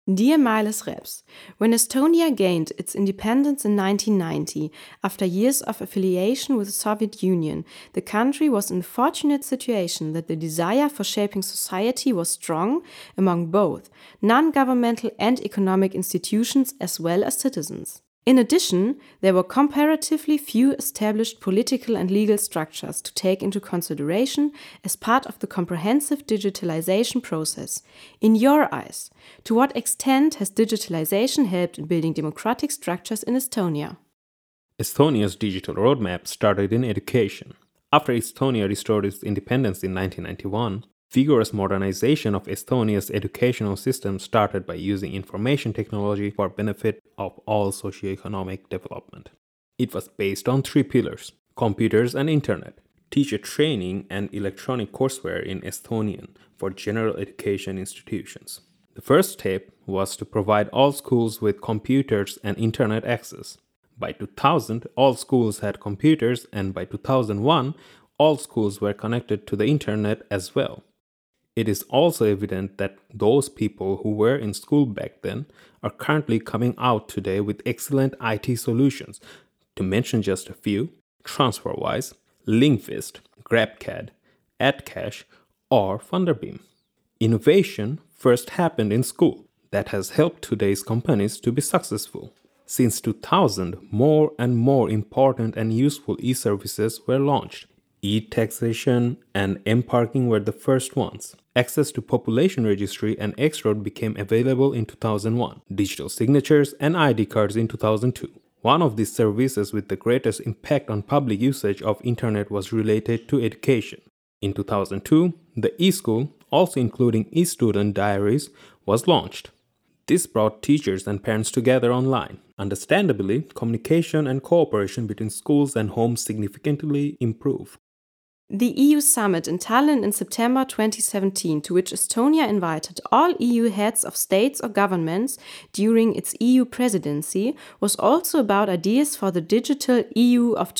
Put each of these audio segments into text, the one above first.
Dear Miles Reps, when Estonia gained its independence in 1990, after years of affiliation with the Soviet Union, the country was in the fortunate situation that the desire for shaping society was strong among both non-governmental and economic institutions as well as citizens. In addition, there were comparatively few established political and legal structures to take into consideration as part of the comprehensive digitalization process. In your eyes, to what extent has digitalization helped in building democratic structures in Estonia? Estonia's digital roadmap started in education. After Estonia restored its independence in 1991, vigorous modernization of Estonia's educational system started by using information technology for benefit of all socioeconomic development. It was based on three pillars: computers and internet, teacher training, and electronic courseware in Estonian for general education institutions. The first step was to provide all schools with computers and internet access. By 2000, all schools had computers, and by 2001, all schools were connected to the internet as well. It is also evident that those people who were in school back then are currently coming out today with excellent IT solutions. To mention just a few: TransferWise, Linkfist, GrabCAD, AdCash, or Funderbeam. Innovation first happened in school. That has helped today's companies to be successful. Since 2000, more and more important and useful e-services were launched. E-taxation and M-parking were the first ones. Access to population registry and X-Road became available in 2001. Digital signatures and ID cards in 2002. One of these services with the greatest impact on public usage of internet was related to education. In 2002, the e-school, also including e-student diaries, was launched. This brought teachers and parents together online. Understandably, communication and cooperation between schools and homes significantly improved. The EU summit in Tallinn in September 2017, to which Estonia invited all EU heads of states or governments during its EU presidency, was also about ideas for the digital EU of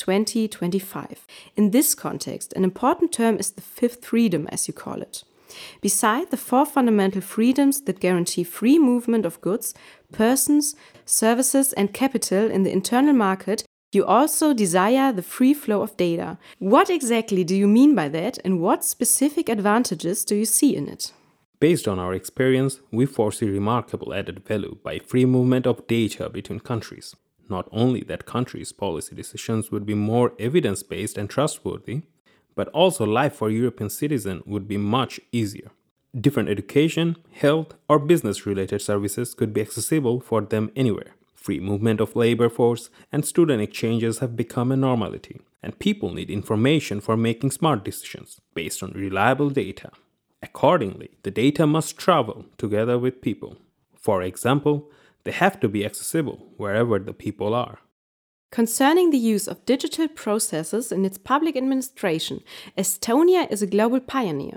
2025. In this context, an important term is the fifth freedom, as you call it. Beside the four fundamental freedoms that guarantee free movement of goods, persons, services, and capital in the internal market, you also desire the free flow of data. What exactly do you mean by that, and what specific advantages do you see in it? Based on our experience, we foresee remarkable added value by free movement of data between countries. Not only that countries' policy decisions would be more evidence-based and trustworthy, but also life for European citizens would be much easier. Different education, health, or business-related services could be accessible for them anywhere. Free movement of labor force and student exchanges have become a normality, and people need information for making smart decisions based on reliable data. Accordingly, the data must travel together with people. For example, they have to be accessible wherever the people are. Concerning the use of digital processes in its public administration, Estonia is a global pioneer.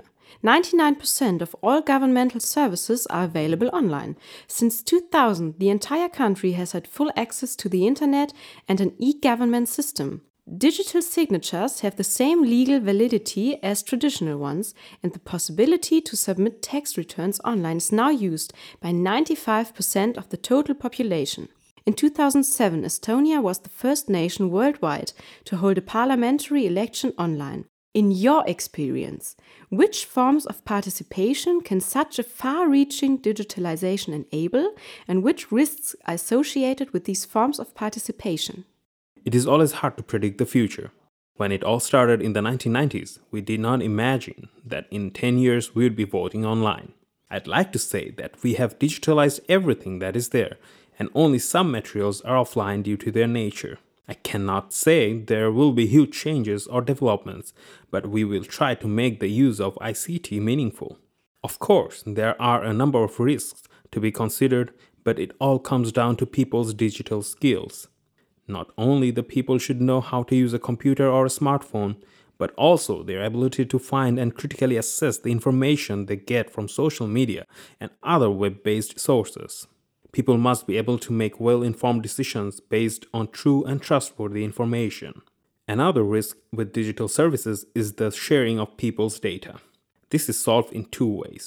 99% of all governmental services are available online. Since 2000, the entire country has had full access to the internet and an e-government system. Digital signatures have the same legal validity as traditional ones, and the possibility to submit tax returns online is now used by 95% of the total population. In 2007, Estonia was the first nation worldwide to hold a parliamentary election online. In your experience, which forms of participation can such a far-reaching digitalization enable, and which risks are associated with these forms of participation? It is always hard to predict the future. When it all started in the 1990s, we did not imagine that in 10 years we would be voting online. I'd like to say that we have digitalized everything that is there, and only some materials are offline due to their nature. I cannot say there will be huge changes or developments, but we will try to make the use of ICT meaningful. Of course, there are a number of risks to be considered, but it all comes down to people's digital skills. Not only the people should know how to use a computer or a smartphone, but also their ability to find and critically assess the information they get from social media and other web-based sources. People must be able to make well-informed decisions based on true and trustworthy information. Another risk with digital services is the sharing of people's data. This is solved in two ways.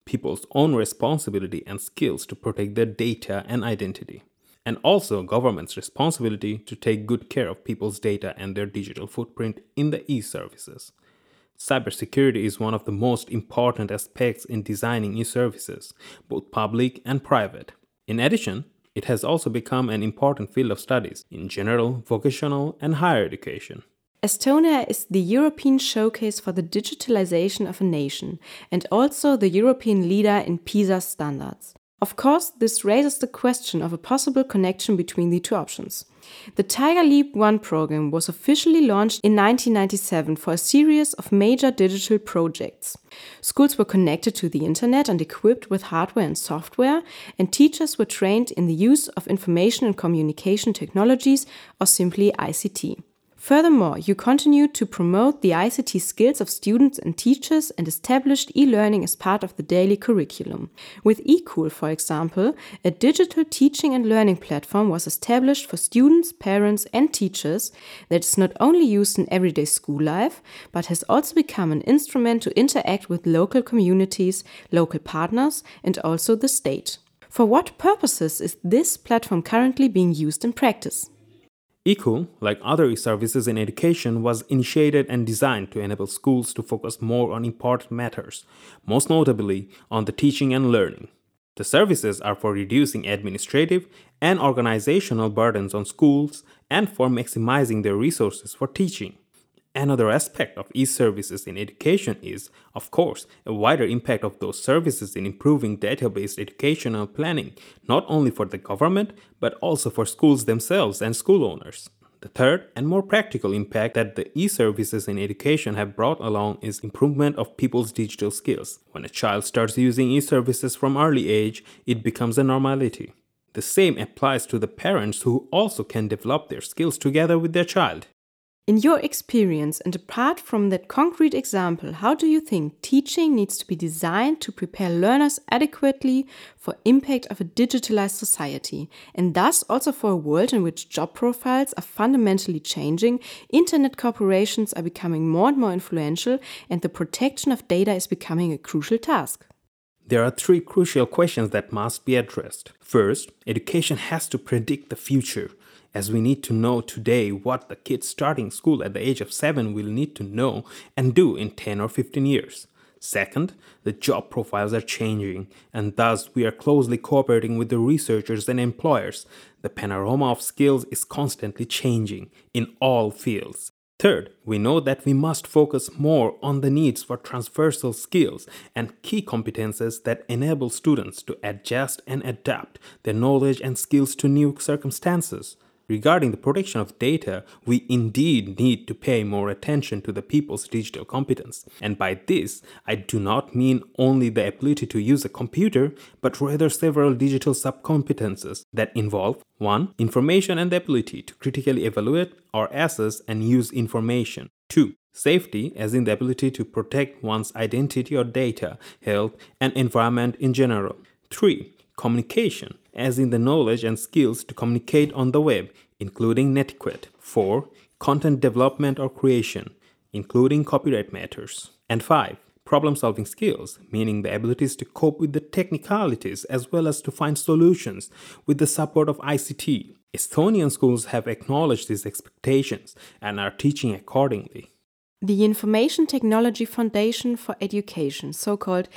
people's own responsibility and skills to protect their data and identity, and also government's responsibility to take good care of people's data and their digital footprint in the e-services. Cybersecurity is one of the most important aspects in designing e-services, both public and private. In addition, it has also become an important field of studies in general, vocational, and higher education. Estonia is the European showcase for the digitalization of a nation and also the European leader in PISA standards. Of course, this raises the question of a possible connection between the two options. The Tiger Leap 1 program was officially launched in 1997 for a series of major digital projects. Schools were connected to the internet and equipped with hardware and software, and teachers were trained in the use of information and communication technologies, or simply ICT. Furthermore, you continued to promote the ICT skills of students and teachers and established e-learning as part of the daily curriculum. With eCool, for example, a digital teaching and learning platform was established for students, parents, and teachers that is not only used in everyday school life, but has also become an instrument to interact with local communities, local partners, and also the state. For what purposes is this platform currently being used in practice? eCool, like other e-services in education, was initiated and designed to enable schools to focus more on important matters, most notably on the teaching and learning. The services are for reducing administrative and organizational burdens on schools and for maximizing their resources for teaching. Another aspect of e-services in education is, of course, a wider impact of those services in improving data-based educational planning, not only for the government, but also for schools themselves and school owners. The third and more practical impact that the e-services in education have brought along is improvement of people's digital skills. When a child starts using e-services from early age, it becomes a normality. The same applies to the parents who also can develop their skills together with their child. In your experience, and apart from that concrete example, how do you think teaching needs to be designed to prepare learners adequately for impact of a digitalized society, and thus also for a world in which job profiles are fundamentally changing, internet corporations are becoming more and more influential, and the protection of data is becoming a crucial task? There are three crucial questions that must be addressed. First, education has to predict the future, as we need to know today what the kids starting school at the age of 7 will need to know and do in 10 or 15 years. Second, the job profiles are changing, and thus we are closely cooperating with the researchers and employers. The panorama of skills is constantly changing in all fields. Third, we know that we must focus more on the needs for transversal skills and key competences that enable students to adjust and adapt their knowledge and skills to new circumstances. Regarding the protection of data, we indeed need to pay more attention to the people's digital competence. And by this, I do not mean only the ability to use a computer, but rather several digital subcompetences that involve 1. Information and the ability to critically evaluate or assess and use information. 2. Safety, as in the ability to protect one's identity or data, health, and environment in general. 3. Communication, as in the knowledge and skills to communicate on the web, including netiquette. 4. Content development or creation, including copyright matters. And 5. Problem-solving skills, meaning the abilities to cope with the technicalities as well as to find solutions with the support of ICT. Estonian schools have acknowledged these expectations and are teaching accordingly. The Information Technology Foundation for Education, so-called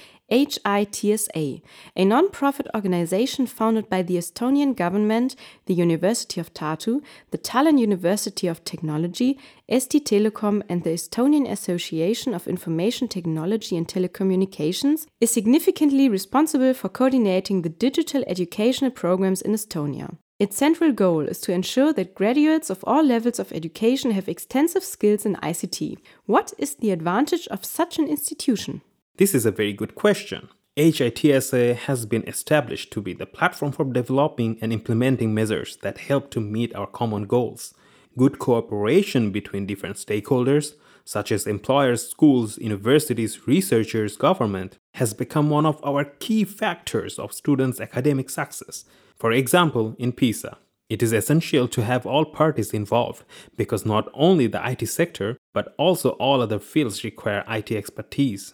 HITSA, a non-profit organization founded by the Estonian government, the University of Tartu, the Tallinn University of Technology, Eesti Telekom, and the Estonian Association of Information Technology and Telecommunications, is significantly responsible for coordinating the digital educational programs in Estonia. Its central goal is to ensure that graduates of all levels of education have extensive skills in ICT. What is the advantage of such an institution? This is a very good question. HITSA has been established to be the platform for developing and implementing measures that help to meet our common goals. Good cooperation between different stakeholders, such as employers, schools, universities, researchers, government, has become one of our key factors of students' academic success. For example, in PISA, it is essential to have all parties involved because not only the IT sector, but also all other fields require IT expertise.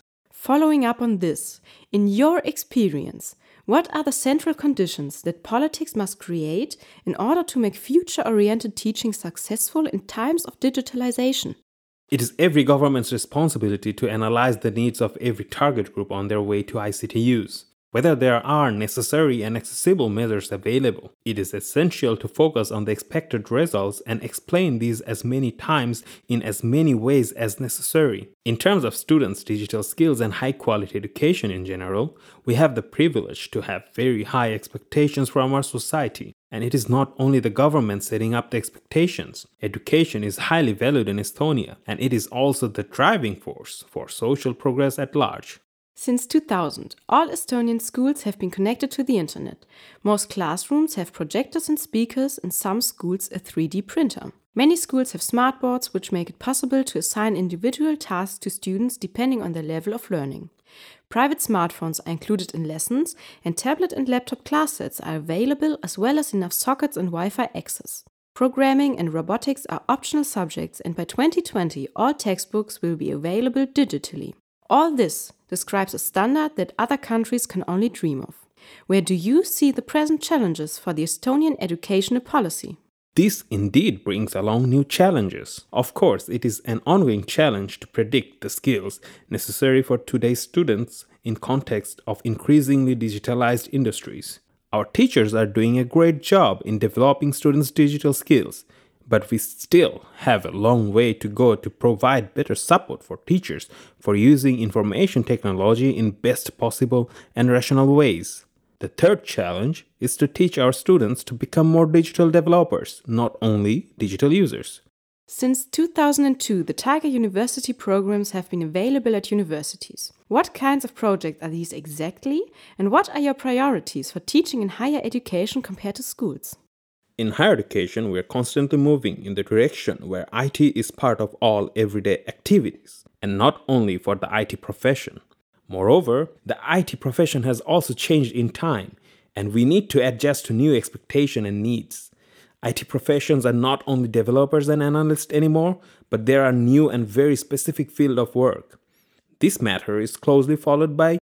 Following up on this, in your experience, what are the central conditions that politics must create in order to make future-oriented teaching successful in times of digitalization? It is every government's responsibility to analyze the needs of every target group on their way to ICT use. Whether there are necessary and accessible measures available, it is essential to focus on the expected results and explain these as many times in as many ways as necessary. In terms of students' digital skills and high-quality education in general, we have the privilege to have very high expectations from our society. And it is not only the government setting up the expectations. Education is highly valued in Estonia, and it is also the driving force for social progress at large. Since 2000, all Estonian schools have been connected to the internet. Most classrooms have projectors and speakers, and some schools a 3D printer. Many schools have smartboards which make it possible to assign individual tasks to students depending on their level of learning. Private smartphones are included in lessons, and tablet and laptop class sets are available, as well as enough sockets and Wi-Fi access. Programming and robotics are optional subjects, and by 2020 all textbooks will be available digitally. All this describes a standard that other countries can only dream of. Where do you see the present challenges for the Estonian educational policy? This indeed brings along new challenges. Of course, it is an ongoing challenge to predict the skills necessary for today's students in context of increasingly digitalized industries. Our teachers are doing a great job in developing students' digital skills, but we still have a long way to go to provide better support for teachers for using information technology in best possible and rational ways. The third challenge is to teach our students to become more digital developers, not only digital users. Since 2002, the Tiger University programs have been available at universities. What kinds of projects are these exactly, and what are your priorities for teaching in higher education compared to schools? In higher education, we are constantly moving in the direction where IT is part of all everyday activities, and not only for the IT profession. Moreover, the IT profession has also changed in time, and we need to adjust to new expectations and needs. IT professions are not only developers and analysts anymore, but there are new and very specific field of work. This matter is closely followed by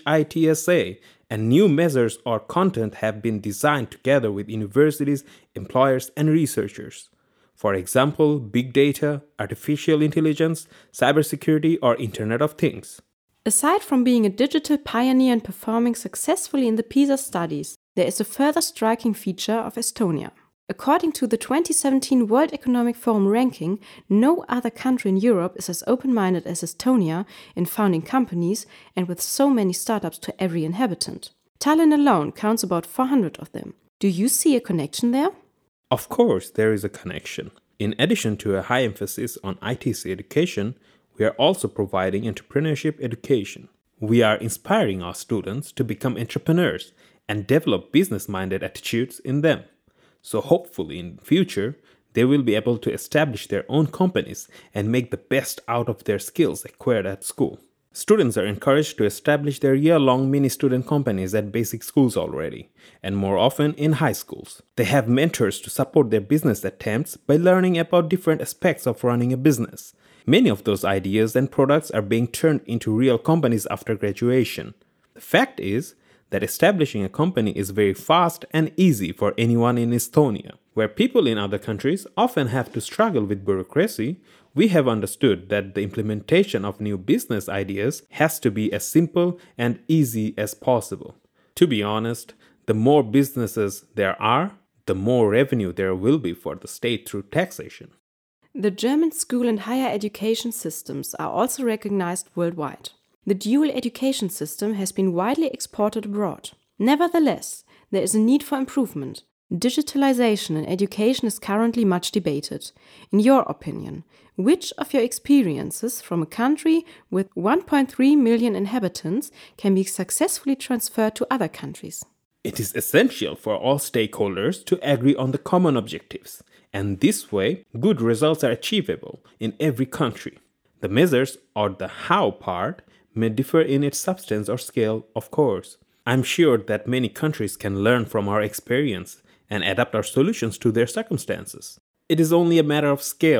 HITSA, and new measures or content have been designed together with universities, employers, and researchers. For example, big data, artificial intelligence, cybersecurity, or Internet of Things. Aside from being a digital pioneer and performing successfully in the PISA studies, there is a further striking feature of Estonia. According to the 2017 World Economic Forum ranking, no other country in Europe is as open-minded as Estonia in founding companies and with so many startups to every inhabitant. Tallinn alone counts about 400 of them. Do you see a connection there? Of course, there is a connection. In addition to a high emphasis on ITC education, we are also providing entrepreneurship education. We are inspiring our students to become entrepreneurs and develop business-minded attitudes in them. So hopefully in the future, they will be able to establish their own companies and make the best out of their skills acquired at school. Students are encouraged to establish their year-long mini-student companies at basic schools already, and more often in high schools. They have mentors to support their business attempts by learning about different aspects of running a business. Many of those ideas and products are being turned into real companies after graduation. The fact is that establishing a company is very fast and easy for anyone in Estonia. Where people in other countries often have to struggle with bureaucracy, we have understood that the implementation of new business ideas has to be as simple and easy as possible. To be honest, the more businesses there are, the more revenue there will be for the state through taxation. The German school and higher education systems are also recognized worldwide. The dual education system has been widely exported abroad. Nevertheless, there is a need for improvement. Digitalization in education is currently much debated. In your opinion, which of your experiences from a country with 1.3 million inhabitants can be successfully transferred to other countries? It is essential for all stakeholders to agree on the common objectives, and this way, good results are achievable in every country. The measures, or the how part, may differ in its substance or scale, of course. I'm sure that many countries can learn from our experience and adapt our solutions to their circumstances. It is only a matter of scale,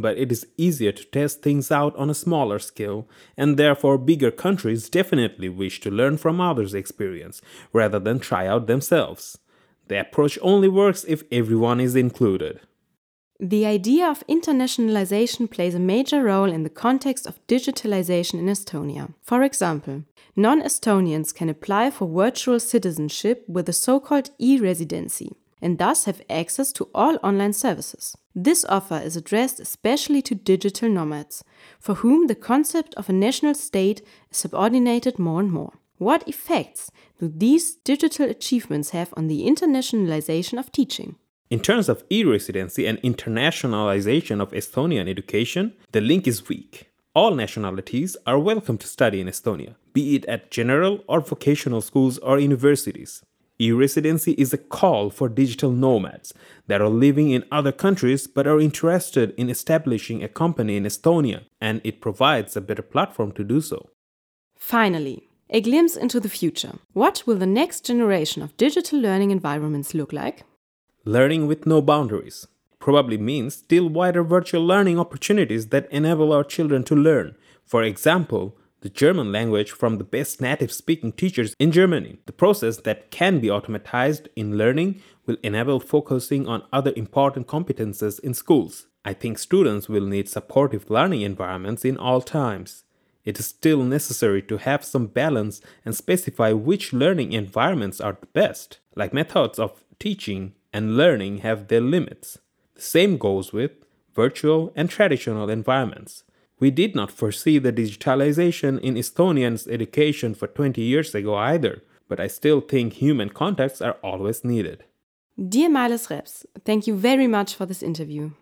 but it is easier to test things out on a smaller scale, and therefore bigger countries definitely wish to learn from others' experience rather than try out themselves. The approach only works if everyone is included. The idea of internationalization plays a major role in the context of digitalization in Estonia. For example, non-Estonians can apply for virtual citizenship with a so-called e-residency and thus have access to all online services. This offer is addressed especially to digital nomads, for whom the concept of a national state is subordinated more and more. What effects do these digital achievements have on the internationalization of teaching? In terms of e-residency and internationalization of Estonian education, the link is weak. All nationalities are welcome to study in Estonia, be it at general or vocational schools or universities. E-residency is a call for digital nomads that are living in other countries but are interested in establishing a company in Estonia, and it provides a better platform to do so. Finally, a glimpse into the future. What will the next generation of digital learning environments look like? Learning with no boundaries probably means still wider virtual learning opportunities that enable our children to learn. For example, the German language from the best native-speaking teachers in Germany. The process that can be automatized in learning will enable focusing on other important competences in schools. I think students will need supportive learning environments in all times. It is still necessary to have some balance and specify which learning environments are the best, like methods of teaching and learning have their limits. The same goes with virtual and traditional environments. We did not foresee the digitalization in Estonians' education for 20 years ago either, but I still think human contacts are always needed. Dear Miles Reps, thank you very much for this interview.